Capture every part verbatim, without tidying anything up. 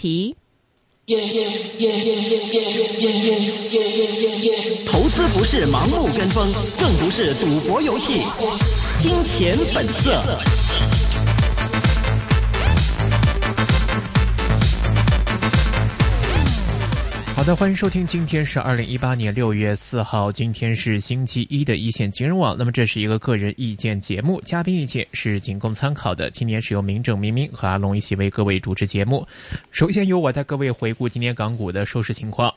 题。 投资不是盲目跟风，更不是赌博游戏。金钱本色。 好的，欢迎收听，今天是二零一八年六月四号，今天是星期一的一线金融网。那么这是一个个人意见节目，嘉宾意见是仅供参考的。今年是由明正、明明和阿龙一起为各位主持节目。首先由我带各位回顾今天港股的收市情况。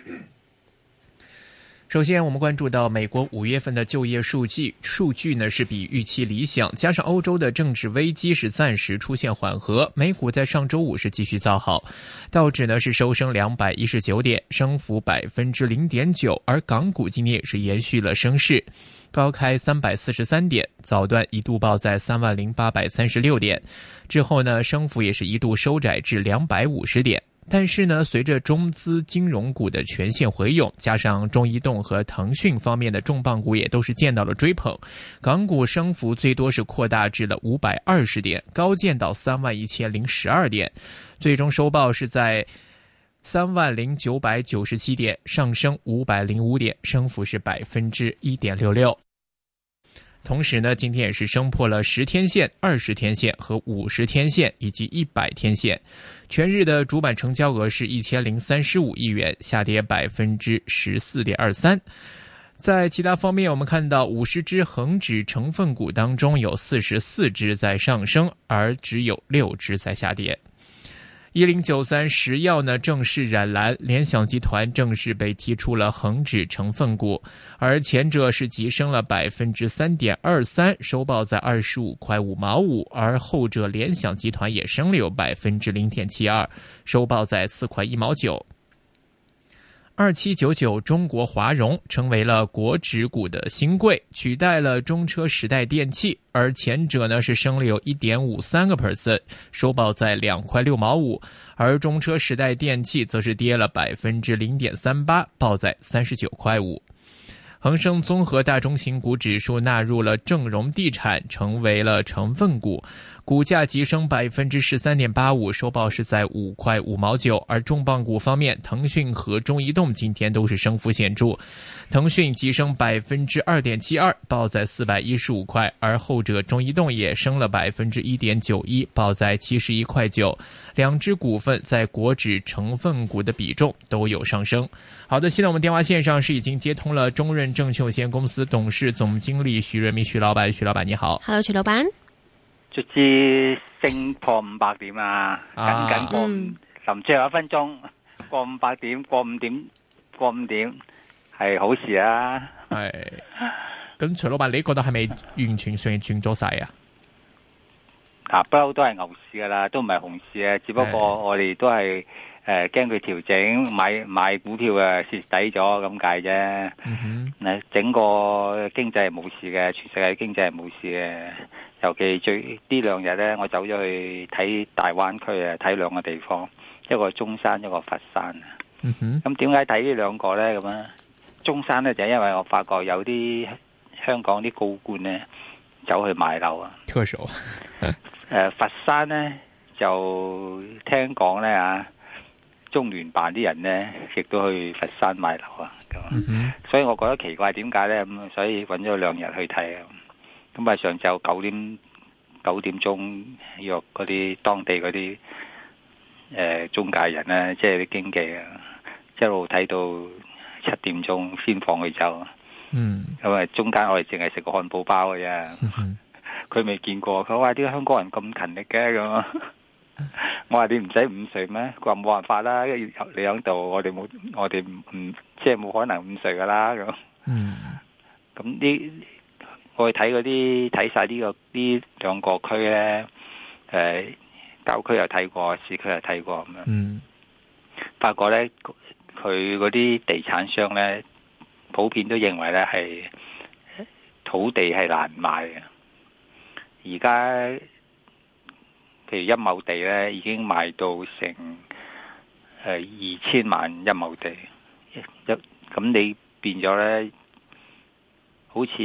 首先我们关注到美国五月份的就业数据，数据呢是比预期理想，加上欧洲的政治危机是暂时出现缓和，美股在上周五是继续造好，道指呢是收升两百一十九点，升幅百分之零点九，而港股今天也是延续了升势，高开三百四十三点，早段一度报在三万零八百三十六点，之后呢升幅也是一度收窄至两百五十点。但是呢，随着中资金融股的全线回涌，加上中移动和腾讯方面的重磅股也都是见到了追捧，港股升幅最多是扩大至了五百二十点，高见到三万一千零十二点，最终收报是在三万零九百九十七点，上升五百零五点，升幅是百分之一点六六。同时呢，今天也是升破了十天线、二十天线和五十天线以及一百天线。全日的主板成交额是一千零三十五亿元，下跌百分之十四点二三。在其他方面，我们看到五十只恒指成分股当中有四十四只在上升，而只有六只在下跌。一零九三石药呢正式染蓝，联想集团正式被踢出了恒指成分股，而前者是急升了百分之三点二三，收报在二十五块五毛五，而后者联想集团也升了有百分之零点七二，收报在四块一毛九。二七九九中国华融成为了国指股的新贵，取代了中车时代电器，而前者呢是升了有 一点五三个百分点，收报在两块六毛五，而中车时代电器则是跌了百分之零点三八，报在三十九块五。恒生综合大中型股指数纳入了正荣地产，成为了成分股，股价急升百分之十三点八五，收报是在五块五毛九。而重磅股方面，腾讯和中移动今天都是升幅显著，腾讯急升百分之二点七二，报在四百一十五块，而后者中移动也升了百分之一点九一，报在七十一块九。两只股份在国指成分股的比重都有上升。好的，现在我们电话线上是已经接通了中润证券有限公司董事总经理徐润民徐老闆，徐老闆你好。 Hello， 徐老闆。 卒之升破五百點啊，緊緊過五，臨最後一分鐘過五百點，過五點，過五點係好事啊。 係，咁徐老闆你覺得係咪完全上轉咗晒啊？ 嗱，不嬲都係牛市噶啦，都唔係熊市啊，只不過我哋都係誒驚佢調整，買買股票啊蝕底咗咁解啫。嗯哼，整個經濟係冇事嘅，全世界經濟係冇事嘅。尤其最呢兩日咧，我走咗去睇大灣區啊，睇兩個地方，一個中山，一個佛山。嗯哼，咁點解睇呢兩個咧？咁啊，中山咧就係因為我發覺有啲香港啲高官咧走去買樓啊， 特首。 誒，佛山咧就聽講咧啊，中聯辦啲人咧亦都去佛山買樓啊，咁、嗯，所以我覺得奇怪點解咧咁，所以揾咗兩日去睇啊。咁啊，上晝九點九點鐘約嗰啲當地嗰啲誒中介人咧，即係啲經紀啊，一路睇到七點鐘先放佢走。嗯，咁啊，中間我哋淨係食個漢堡包嘅啫。佢未見過，佢話啲香港人咁勤力嘅咁。我話你唔使午睡咩？佢話冇辦法啦，因為你喺度，我哋冇，我哋唔即係冇可能午睡噶啦咁。嗯，咁呢？我去睇嗰啲睇晒呢個呢兩個區咧，誒郊區又睇過，市區又睇過咁樣。嗯，發覺咧佢嗰啲地產商咧，普遍都認為咧係土地係難買嘅。而家譬如一畝地咧，已經賣到成誒二千萬一畝地，一咁你變咗咧，好似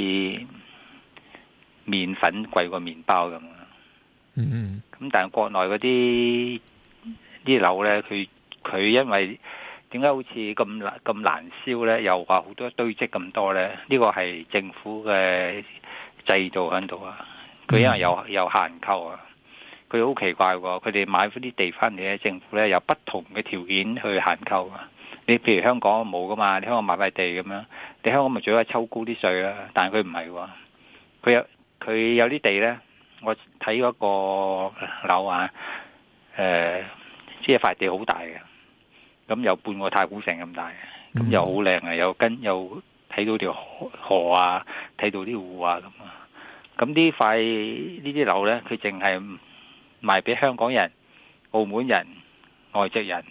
麵粉貴過麵包咁啊！嗯嗯，咁但係國內嗰啲啲樓咧，佢佢因為點解好似咁難咁難燒咧？又話好多堆積咁多咧？呢個係政府嘅制度喺度啊！佢因為有有限購啊，佢好奇怪喎！佢哋買嗰啲地翻嚟咧，政府咧有不同嘅條件去限購啊！你譬如香港冇噶嘛？你香港買塊地咁樣，你香港咪最多抽高啲稅啦？但係佢唔係喎，佢有佢有啲地咧，我睇嗰個樓啊，誒、呃，即係塊地好大嘅。咁有半個太古城咁大嘅，咁又好靚啊！又跟又睇到條河，河啊，睇到啲湖啊咁啊！咁呢塊呢啲樓咧，佢淨係賣俾香港人、澳門人、外籍人，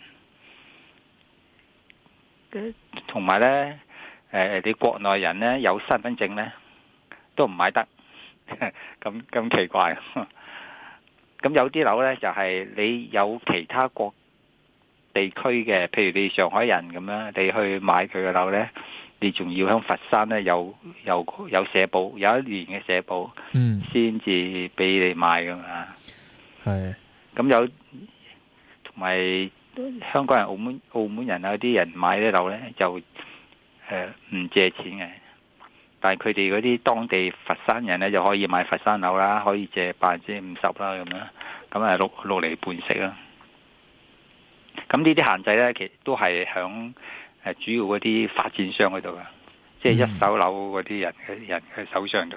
同埋咧誒，你國內人咧有身份證咧都唔買得，咁咁奇怪。咁有啲樓咧就係、是、你有其他國地區嘅，譬如你上海人咁樣，你去買佢嘅樓咧，你仲要喺佛山咧有有有社保，有一年嘅社保，嗯，先至俾你買噶嘛。係，咁有同埋香港人、澳門澳門人啊啲人買啲樓咧，就誒唔、呃、借錢嘅，但係佢哋嗰啲當地佛山人咧就可以買佛山樓啦，可以借百分之五十啦咁樣，咁啊六六厘半息啦。咁呢啲限制咧，其實都係響誒主要嗰啲發展商嗰度噶，即係一手樓嗰啲人嘅人嘅手上度。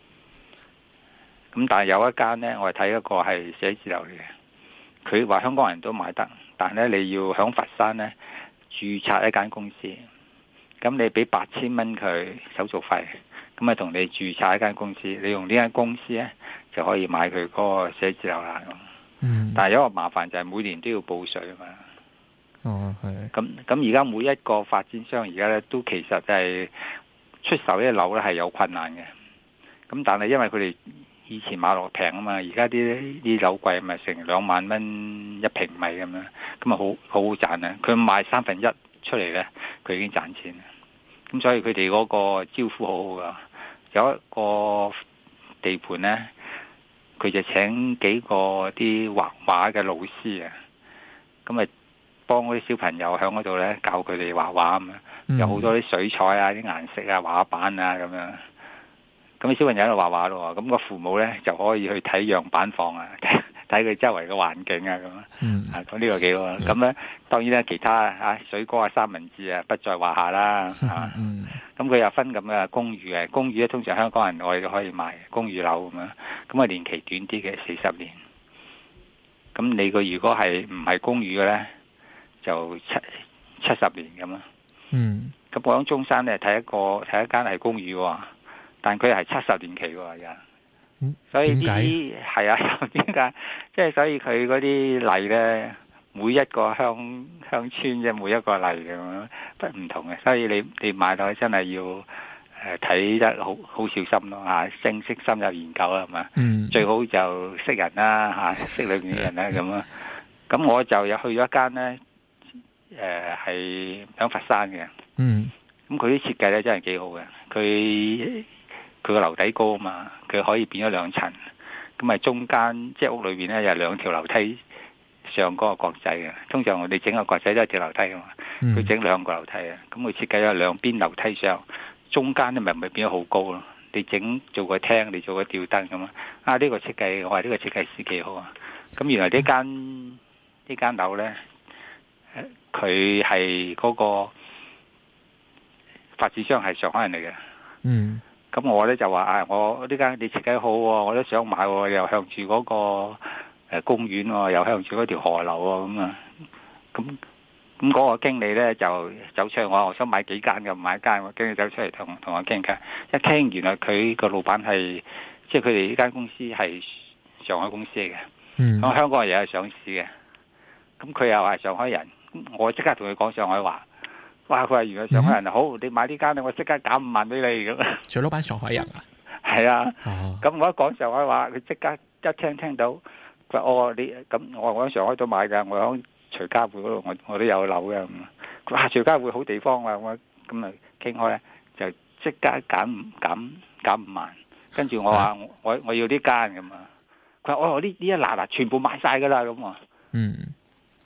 咁但係有一間咧，我係睇一個係寫字樓嚟嘅，佢話香港人都買得，但係咧你要響佛山咧註冊一間公司，咁你俾八千蚊佢手續費，咁啊同你註冊一間公司，你用呢間公司咧就可以買佢嗰個寫字樓啦。嗯，但係有一個麻煩就係每年都要報稅啊嘛。哦，係。咁咁而家每一個發展商而家咧都其實係出售呢啲樓咧係有困難嘅。咁但係因為佢哋以前買落平啊嘛，而家啲啲樓貴咪成兩萬蚊一平米咁樣，咁啊好好好賺啊！佢賣三分一出嚟咧，佢已經賺錢。咁所以佢哋嗰個招呼好好噶。有一個地盤咧，佢就請幾個啲畫畫嘅老師啊，咁啊。幫嗰啲小朋友喺嗰度咧教佢哋畫畫咁樣，有好多啲水彩啊、啲顏色啊、畫板啊咁樣。咁啲小朋友喺度畫畫咯，咁個父母咧就可以去睇樣板房啊，睇佢周圍嘅環境啊咁啊。嗯，啊咁呢個幾好啊。咁咧當然咧其他啊水果啊、三文治啊不在話下啦。嗯。咁佢又分咁嘅公寓嘅，公寓咧通常香港人我哋都可以買公寓樓咁樣，咁啊年期短啲嘅四十年。咁你個如果係唔係公寓嘅咧？就七七十年咁咯。嗯，咁我喺中山咧睇一個睇一間係公寓喎，但佢係七十年期喎而家。嗯，所以呢啲係啊，點解？即係所以佢嗰啲例咧，每一個鄉鄉村即係每一個例咁樣不唔同嘅，所以你你買到真係要誒睇得好好小心咯嚇，正式深入研究啦係嘛。嗯，最好就識人啦嚇，識裏面啲人啦咁啊。咁我就有去咗一間咧。誒，係響佛山嘅，嗯，咁佢啲設計咧真係幾好嘅，佢佢個樓底高啊嘛，佢可以變咗兩層，咁啊中間即係屋裏邊咧有兩條樓梯上嗰個國際嘅，通常我哋整個國際都係條樓梯噶嘛，佢整兩個樓梯啊，咁佢設計咗兩邊樓梯上，中間咧咪咪變咗好高咯，你整做個廳，你做個吊燈咁啊，啊呢個設計我話呢個設計師幾好啊，咁原來呢間呢間樓咧。佢係嗰個發展商係上海人嚟嘅，嗯，咁我咧就話啊，我呢間你設計好，我都想買，又向住嗰個誒公園，又向住嗰條河流咁啊，咁咁嗰個經理咧就走出嚟，我我想買幾間嘅，買一間，我經理走出嚟同同我傾偈，一傾原來佢個老闆係即係佢哋呢間公司係上海公司嚟嘅，嗯，咁香港人又係上市嘅，咁佢又係上海人。我即刻同佢講上海話，哇！佢話原來上海人、嗯、好，你買呢間咧，我即刻減五萬俾你咁。徐老闆上海人啊？係啊。咁、哦、我一講上海話，佢即刻一聽聽到，佢話哦你咁，我我喺上海都買噶，我喺徐家匯嗰度，我我都有樓嘅。佢話徐家匯好地方啊，我咁啊傾開咧，就即刻減減減五萬。跟住我話、啊、我我要呢間咁啊，佢話哦呢呢一欄啊全部買晒噶啦咁啊。嗯。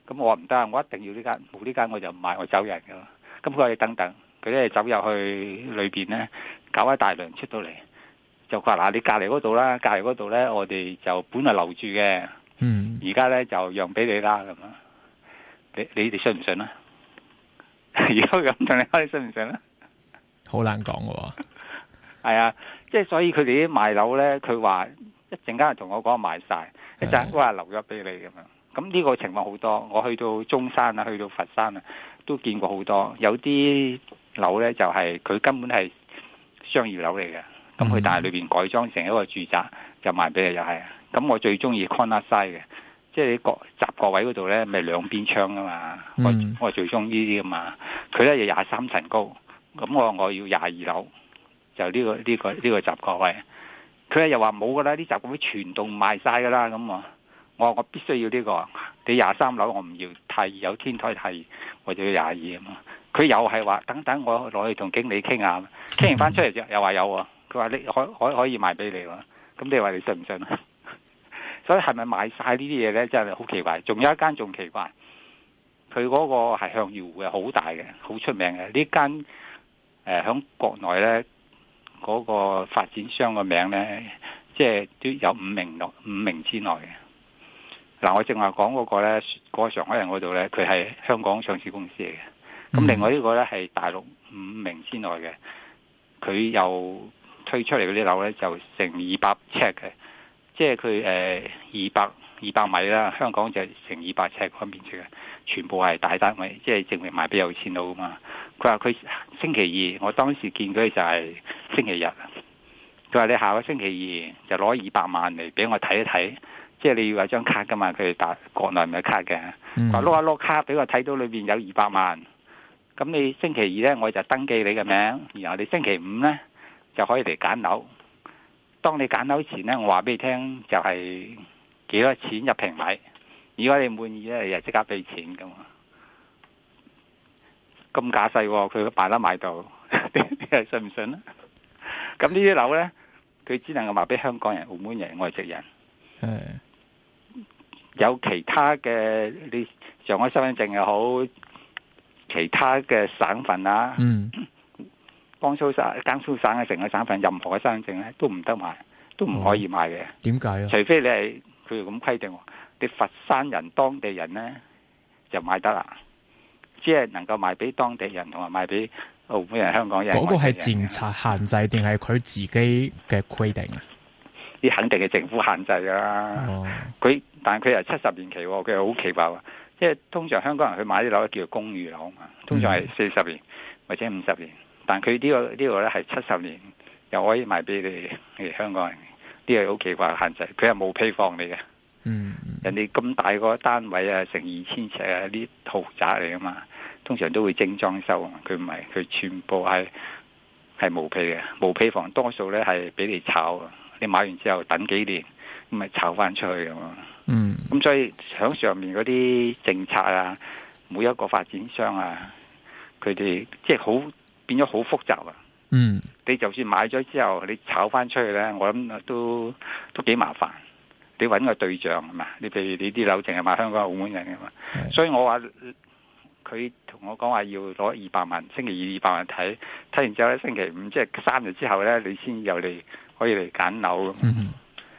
咁我話唔得，我一定要呢間，冇呢間我就唔買，我走人噶。咁佢話你等等，佢咧走入去裏邊咧，搞一大輪出到嚟，就話嗱，你隔離嗰度啦，隔離嗰度咧，我哋就本來留住嘅， 嗯， 而家咧就讓俾你啦咁啊！你你哋信唔信啊？而家咁同你講，你信唔信啊？ 好難講嘅喎。 係啊，即係所以佢哋啲賣樓咧，佢話一陣間同我講賣晒，一陣我話留咗俾你咁樣。咁呢個情況好多，我去到中山啊，去到佛山啊，都見過好多。有啲樓咧就係、是、佢根本係商業樓嚟嘅，咁佢但係裏邊改裝成一個住宅就賣俾你又係。咁我最中意 corner side 嘅，即係你個閘角位嗰度咧，咪兩邊窗噶嘛。嗯、我我最中意呢啲噶嘛。佢咧有廿三層高，咁我我要廿二樓，就呢、這個呢、這個呢、這個閘角位。佢咧又話冇噶啦，啲閘角位全棟賣晒噶啦，咁啊。我話我必須要呢、這個，你廿三樓我唔要，太二有天台太二，我就要廿二啊嘛。佢又係話等等，我攞去同經理傾下，傾完翻出嚟之後又話有喎。佢話你可可可以賣俾你喎，咁你話你信唔信啊？所以係咪賣晒呢啲嘢咧？真係好奇怪。仲有一間仲奇怪，佢嗰個係向陽湖嘅，好大嘅，好出名嘅。呢間誒響國內咧嗰、那個發展商嘅名咧，即係都有五名內五名之內嘅。嗱，我正話講嗰個咧，嗰個上海人嗰度咧，佢係香港上市公司嚟嘅。咁另外呢個咧係大陸五名之內嘅，佢又推出嚟嗰啲樓咧就成二百尺嘅，即係佢誒二百二百米啦，香港就成二百尺嗰面積嘅，全部係大單位，即係證明賣俾有錢佬啊嘛。佢話佢星期二，我當時見佢就係星期日，佢話你下個星期二就攞二百萬嚟俾我睇一睇。即係你要有張卡噶嘛，佢哋打國內唔係卡嘅，話碌下碌卡俾我睇到裏邊有二百萬，咁你星期二咧我就登記你嘅名，然後你星期五咧就可以嚟揀樓。當你揀樓前咧，我話俾你聽就係幾多錢一平米，如果你滿意咧，你就即刻俾錢噶嘛。咁架勢，佢賣得賣到，你係信唔信咧？咁呢啲樓咧，佢只能夠賣俾香港人、澳門人、外籍人。係。有其他嘅，你上海身份證又好，其他嘅省份啊，嗯，江蘇省、江蘇省嘅成個省份，任何嘅身份證咧都唔得賣，都唔可以賣嘅。點解啊？除非你係佢咁規定，你佛山人當地人咧就買得啦，只係能夠賣俾當地人同埋賣俾澳門人、香港人。嗰個係政策限制定係佢自己嘅規定啊？啲肯定係政府限制噶啦，佢、哦、但係佢係七十年期，佢係好奇怪喎。即係通常香港人去買啲樓叫做公寓樓嘛，通常係四十年或者五十年，但佢呢、這個呢、這個咧係七十年，又可以賣俾你哋香港人，呢個好奇怪嘅限制。佢係冇批放你嘅，嗯，人哋咁大個單位啊，成二千尺啊，啲豪宅嚟噶嘛，通常都會精裝修，佢唔係，佢全部係係冇批嘅，冇批放，多數咧係俾你炒。你買完之後等幾年，咁咪炒翻出去咁咯。嗯，咁所以喺上面嗰啲政策啊，每一個發展商啊，佢哋即係好變咗好複雜啊。嗯，你就算買咗之後，你炒翻出去咧，我諗都都幾麻煩。你揾個對象係嘛？你譬如你啲樓淨係買香港、澳門人㗎嘛。所以我話佢同我講話要攞二百萬，星期二二百萬睇，睇完之後咧，星期五即係三日之後咧，你先有嚟。可以嚟揀樓，嗯、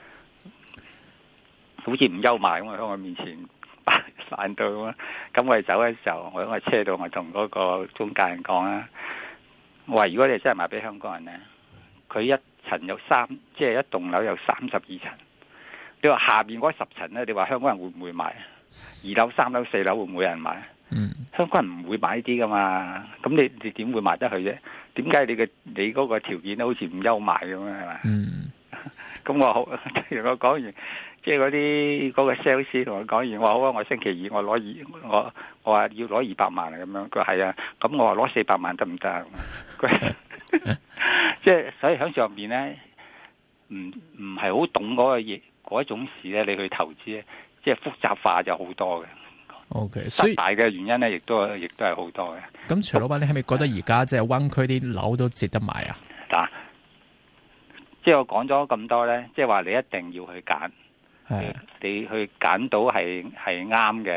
好似唔憂賣咁喺我面前擺散到咁。咁我哋走嘅時候，我喺個車度，我同嗰個中介人講啦，我話如果你真係賣俾香港人咧，佢一層有三，即係一棟樓有三十二層。你話下邊嗰十層咧，你話香港人會唔會買？二樓、三樓、四樓會唔會有人買？嗯、香港人唔會買呢啲噶嘛。咁你你點會賣得去啫？點解你嘅你嗰個條件好似唔優賣咁啊？係嘛？嗯，咁我好，我講完，即係嗰啲嗰個 sales 同我講完，我話好啊，我星期二我攞二，我我話要攞二百萬啊咁樣，佢話係啊，咁我話攞四百萬得唔得啊？佢即係所以喺上邊咧，唔唔係好懂嗰個嘢嗰一種事咧，你去投資咧，即係複雜化就好多嘅。O K， 所以大嘅原因咧，亦都亦都係好多嘅。咁徐老闆，你係咪覺得而家即係灣區啲樓都值得買啊？嗱，即係我講咗咁多咧，即係話你一定要去揀，係你去揀到係係啱嘅，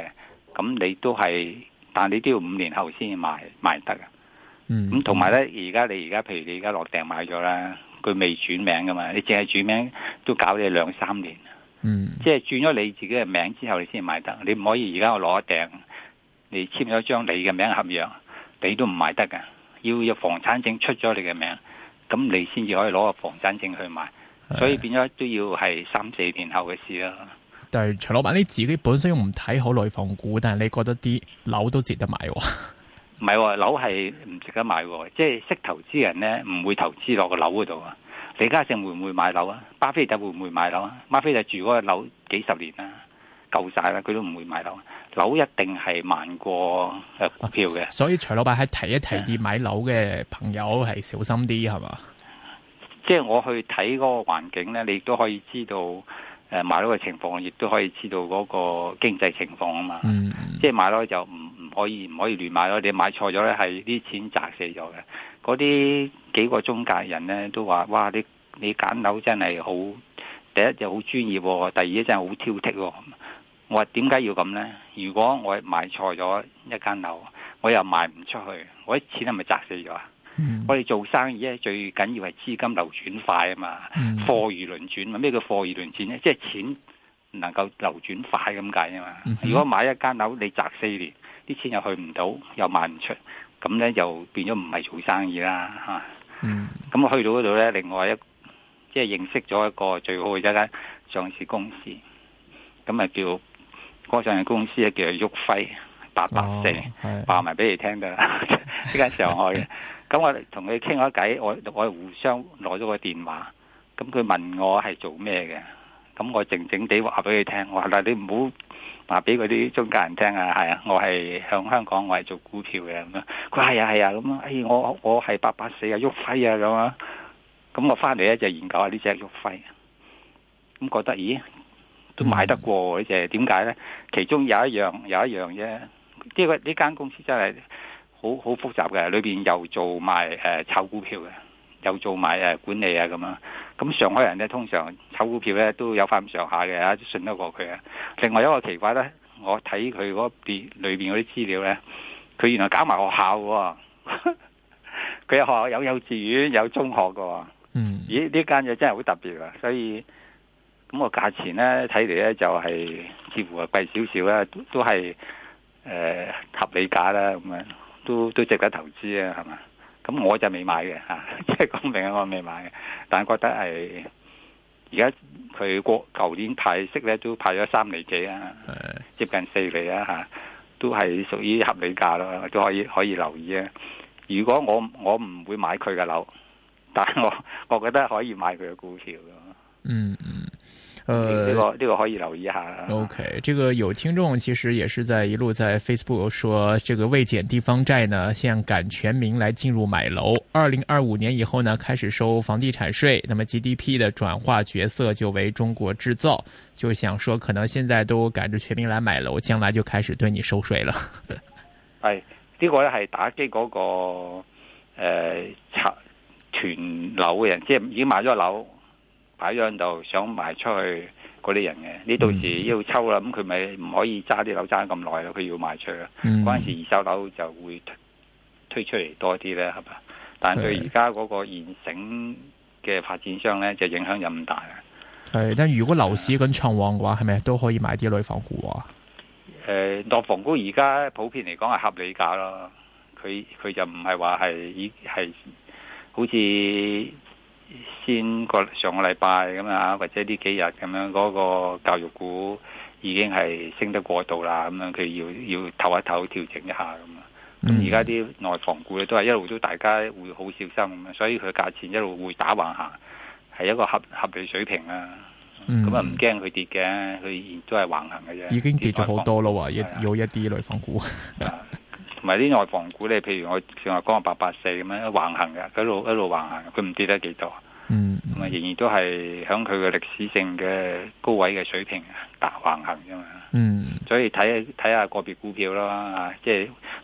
咁你都係，但你都要五年後先賣賣得嘅。 嗯， 咁同埋咧，而家你而家譬如你而家落訂買咗啦，佢未轉名噶嘛，你淨係轉名都搞你兩三年。 嗯， 即係轉咗你自己嘅名之後，你先賣得。你唔可以而家我攞訂，你簽咗張你嘅名合約，你都唔賣得噶。要有房產證出咗你嘅名，咁你先至可以攞個房產證去賣。所以變咗都要係三四年後嘅事啦。 但係徐老闆你自己本身唔睇好內房股，但係你覺得啲樓都值得買喎？ 唔係喎，樓係唔值得買喎。即係識投資人咧，唔會投資落個樓嗰度啊。李嘉誠會唔會買樓啊？巴菲特會唔會買樓啊？巴菲特住嗰個樓幾十年啦，夠晒啦，佢都唔會買樓。樓一定係慢過誒股票嘅。 所以徐老闆係提一提啲買樓嘅朋友係小心啲係嘛？ 即係我去睇嗰個環境咧，你亦都可以知道誒買樓嘅情況，亦都可以知道嗰個經濟情況啊嘛。嗯，即係買樓就唔唔可以唔可以亂買咯。你買錯咗咧，係啲錢砸死咗嘅。嗰啲幾個中介人咧都話：哇！你你揀樓真係好，第一就好專業，第二真係好挑剔。我話點解要咁咧？如果我買錯咗一間樓，我又賣唔出去，我啲錢係咪砸死咗啊？嗯、我哋做生意咧，最緊要係資金流轉快啊嘛，貨如輪轉嘛。咩叫貨如輪轉咧？即係錢能夠流轉快咁解啊嘛。嗯、如果買一間樓你砸四年，啲錢又去唔到，又賣唔出，咁咧就變咗唔係做生意啦嚇。咁、啊嗯、我去到嗰度咧，另外一即係認識咗一個最好嘅一間上市公司，咁啊叫嗰、嗰個上市公司咧叫做旭輝八八四，話埋俾你聽得啦，呢間上海嘅。咁我同佢傾咗偈，我我互相攞咗個電話，咁佢問我係做咩嘅，咁我靜靜地話俾佢聽，我話嗱，你唔好話俾嗰啲中介人聽啊，係啊，我係向香港，我係做股票嘅咁樣。佢話係啊係啊咁啊，哎我我係八八四啊，旭輝啊咁啊，咁我翻嚟咧就研究下呢隻旭輝，咁覺得咦都買得過呢隻，點解咧？其中有一樣有一樣啫，呢個呢間公司真係。好好複雜嘅，裏邊又做埋誒、呃、炒股票嘅，又做埋誒、呃、管理啊咁樣。咁上海人咧通常炒股票咧都有翻咁上下嘅，信得過佢啊。另外一個奇怪咧，我睇佢嗰邊裏邊嗰啲資料咧，佢原來搞埋學校嘅，佢有學校有幼稚園有中學嘅。嗯，咦呢間嘢真係好特別啊！所以咁、個價錢咧睇嚟咧就係、是、似乎係貴少少啦，都都係誒、呃、合理價啦咁樣。都都值得投資啊，係嘛？咁我就未買嘅嚇，即係講明我未買嘅，但係覺得係而家佢過舊年派息咧都派咗三厘幾啊，的接近四厘啊嚇，都係屬於合理價咯，都可以可以留意啊。如果我我唔會買佢嘅樓，但係我我覺得可以買佢嘅股票咯。嗯嗯。呃，這個這個可以留意一下。 OK，這個有聽眾其實也是在一路在 Facebook 說，這個未減地方債呢，現在趕全民來進入買樓。二零二五年以後呢，開始收房地產稅，那麼 G D P 的轉化角色就為中國製造。就想說，可能現在都趕着全民來買樓，將來就開始對你收稅了。 係呢、這個咧係打擊嗰、那個誒拆團樓嘅人，即係已經買咗樓。擺咗喺度想賣出去嗰啲人嘅，你到時要抽啦，咁佢咪唔可以揸啲樓揸咁耐咯？佢要賣出去，嗰陣、嗯、時二手樓就會推出嚟多啲咧，係嘛？但係對而家嗰個現成嘅發展商咧，就影響就唔大啦。 係，但如果樓市咁暢旺嘅話，係咪都可以買啲內房股啊？ 誒、呃，內房股而家普遍嚟講係合理價咯，佢佢就唔係話係以係好似。先個上個禮拜咁啊，或者呢幾日咁樣，嗰個教育股已經係升得過度啦，咁樣佢要要唞一唞，調整一下咁啊。咁而家啲內房股咧都係一路都大家會好小心咁啊，所以佢價錢一路會打橫行，係一個合合理水平啊。咁啊唔驚佢跌嘅，佢都係橫行嘅啫。 已經跌咗好多咯，一有一啲內房股。 同埋啲內房股咧，譬如我上日講個八八四咁樣橫行嘅，一路一路橫行，佢唔跌得幾多。嗯，咁啊仍然都係響佢嘅歷史性嘅高位嘅水平大橫行啫嘛。嗯，所以睇睇下個別股票咯，啊，即係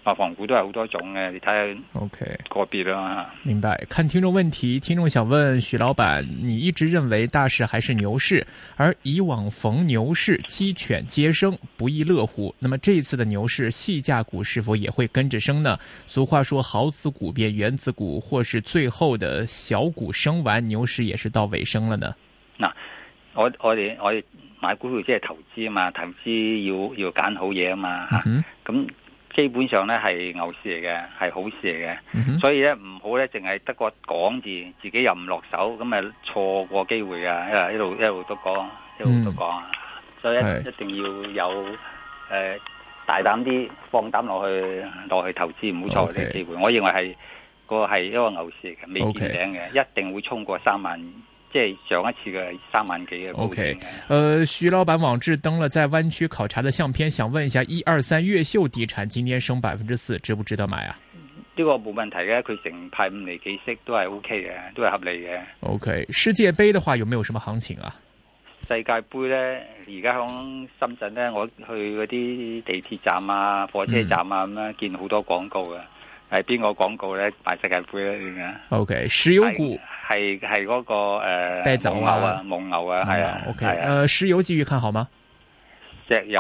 內房股都係好多種嘅，你睇下 OK 個別啦。 明白。看聽眾問題，聽眾想問許老闆，你一直認為大市還是牛市，而以往逢牛市雞犬皆升，不亦樂乎。那麼這一次的牛市，細價股是否也會跟着升呢？俗話說好子股變原子股，或是最後的小股升完，牛市也是到尾聲了呢？ 嗱，我我哋我哋買股票即係投資啊嘛，投資要要揀好嘢啊嘛，咁、嗯。基本上咧係牛市嚟嘅，係好事嚟嘅，嗯、所以咧唔好咧淨係得個講字，自己又唔落手，咁咪錯過機會啊！一路一路都講，一路都講，嗯、所以一,一定要有誒、呃、大膽啲，放膽落去落去投資，唔好錯過呢個機會。Okay. 我認為係個係一個牛市嚟嘅，未見頂嘅，Okay. 一定會衝過三萬。即係上一次嘅三萬幾嘅。O K， 呃，徐老闆網誌登了在灣區考察的相片，想問一下一二三越秀地產今天升百分之四，值不值得買啊？ 呢個冇問題嘅，佢成派五厘幾息都係 O K 嘅，都係合理嘅。 O K， 世界盃的話有沒有什麼行情啊？ 世界盃咧，而家響深圳咧，我去嗰啲地鐵站啊、火車站啊咁樣、嗯、見好多廣告嘅，係邊個廣告咧？買世界盃咧點解 O K， 石油股。 係係嗰個誒，蒙牛啊，蒙牛啊，係啊 ，OK，誒，石油繼續看好嗎？ 石油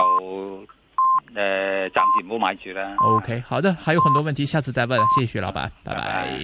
誒，暫時唔好買住啦。 OK，好的，還有很多問題，下次再問，謝謝徐老闆，拜拜。拜拜。